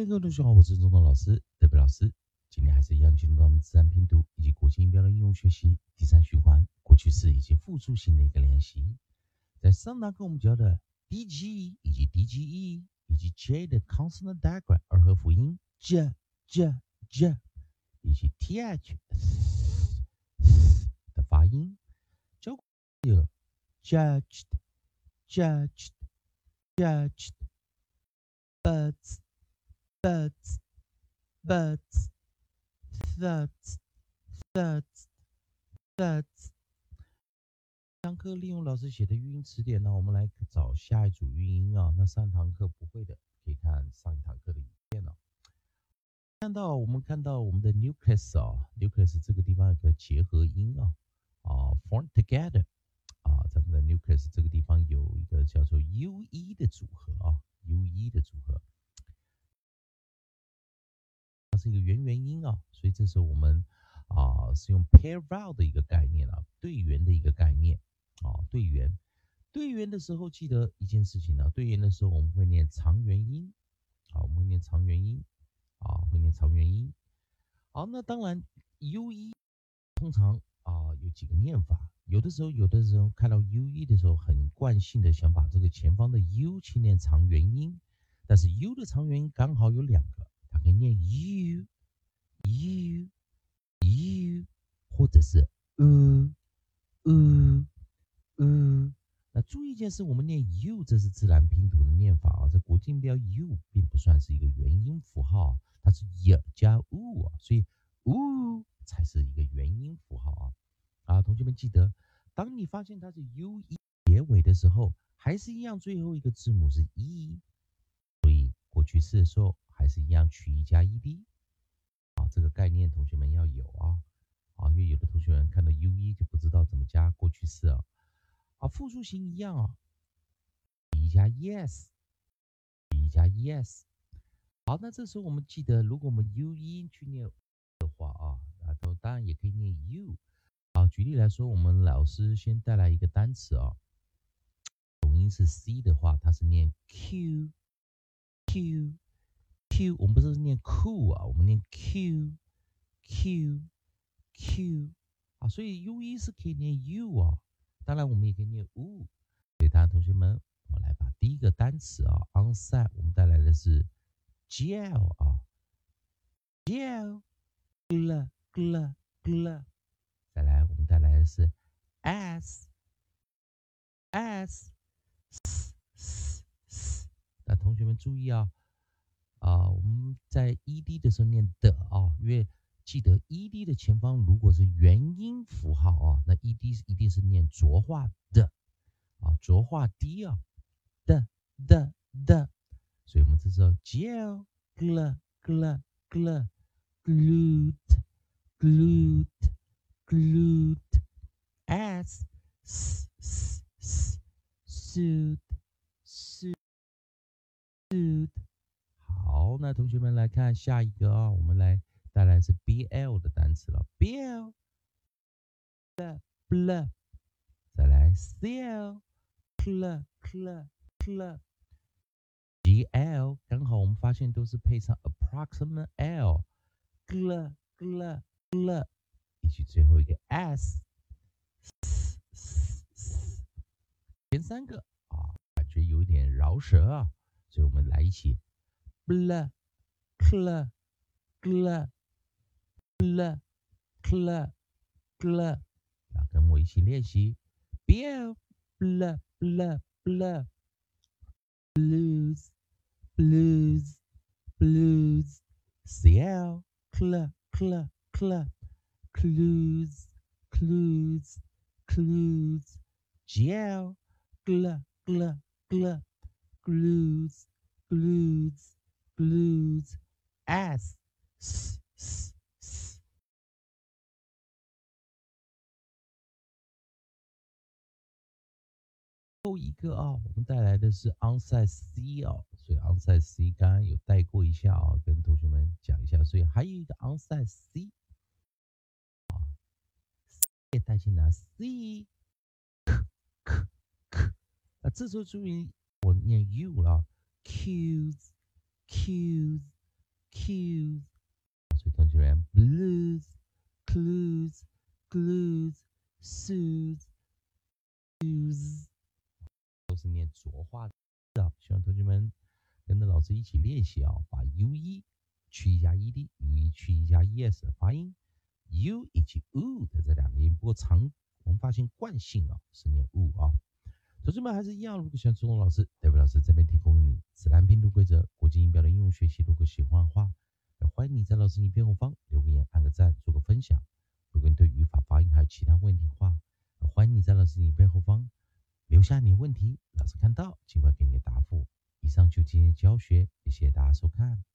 嗨，各位同学好，我是中东老师，德比老师。今天还是一样进入到我们自然拼读以及国际音标的应用学习第三循环过去式以及复数型的一个练习。在上堂课我们教的 DG 以及 DGE 以及 J 的 consonant diagram 二合辅音 J 以及 TH 的发音，教过有 judged birds thirds。上课利用老师写的语音词典呢，我们来找下一组语音啊。那上堂课不会的，可以看上一堂课的影片哦。我们看到我们的 nucleus 啊 ，nucleus 这个地方有个结合音啊，form together 啊，咱们的 nucleus 这个地方有一个叫做 UE 的组合啊，UE 的组合。它是一个元元音啊，所以这时候我们是用 pair vowel 的一个概念啊，对元的一个概念啊，对元的时候记得一件事情呢，对元的时候我们会念长元音啊，我们会念长元音啊，会念长元音。好，那当然 UE 通常有几个念法，有的时候看到 UE 的时候，很惯性的想把这个前方的 U 去念长元音，但是 U 的长元音刚好有两个。它可以念 u， 或者是那注意一件事，我们念 u， 这是自然拼读的念法啊。这国际音标 u 并不算是一个元音符号，它是 y 加 u 啊，所以 u 才是一个元音符号啊。同学们记得，当你发现它是 u 结尾的时候，还是一样，最后一个字母是 e， 所以过去式的时候还是一样取一加 ed。这个概念同学们要有因为有的同学们看到 UE 就不知道怎么加过去式复数型一样取一加 yes， 好，那这时候我们记得，如果我们 UE 去念的话当然也可以念 u。举例来说，我们老师先带来一个单词总音是 C 的话，它是念 Q， 我们不是念 cool 我们念 Q， 所以 UE 是可以念 U当然我们也可以念 U。所以大家同学们，我来把第一个单词onside 我们带来的是 gel gel， 再来我们带来的是 s， 那同学们注意我们在 ed 的时候念的因为记得 ed 的前方如果是元音符号那 ed 一定是念浊化的浊化 d 的，所以我们这时候 gel glued as sued。好，那同学们来看下一个我们来带来是 BL 的单词了 ，BL， 再来 CL， GL， 刚好我们发现都是配上 approximate L， 以及最后一个 S， 前三个感觉有一点饶舌所以我们来一起 bl， 跟我一起练习 BL blues CL clues GL glues S。后一个我们带来的是 onside C 所以 onside C 刚刚有带过一下跟同学们讲一下，所以还有一个 onside C 也带进来 C， 这时候注意我念 U 了 ，cues cues，所以同学们 blues clues glues soothes 都是念浊化的，希望同学们跟着老师一起练习啊，把 ue 去一下 ed， ue 去一下 es 发音 u 以及 u 的这两个音，不过我们发现惯性啊是念 u 啊。同学们还是一样，如果喜欢朱龙老师，代表老师这边提供你自然拼读规则、国际音标的应用学习。如果喜欢的话，也欢迎你在老师影片后方留个言、按个赞、做个分享。如果你对语法、发音还有其他问题的话，欢迎你在老师影片后方留下你的问题，老师看到尽快给你个答复。以上就今天的教学，谢谢大家收看。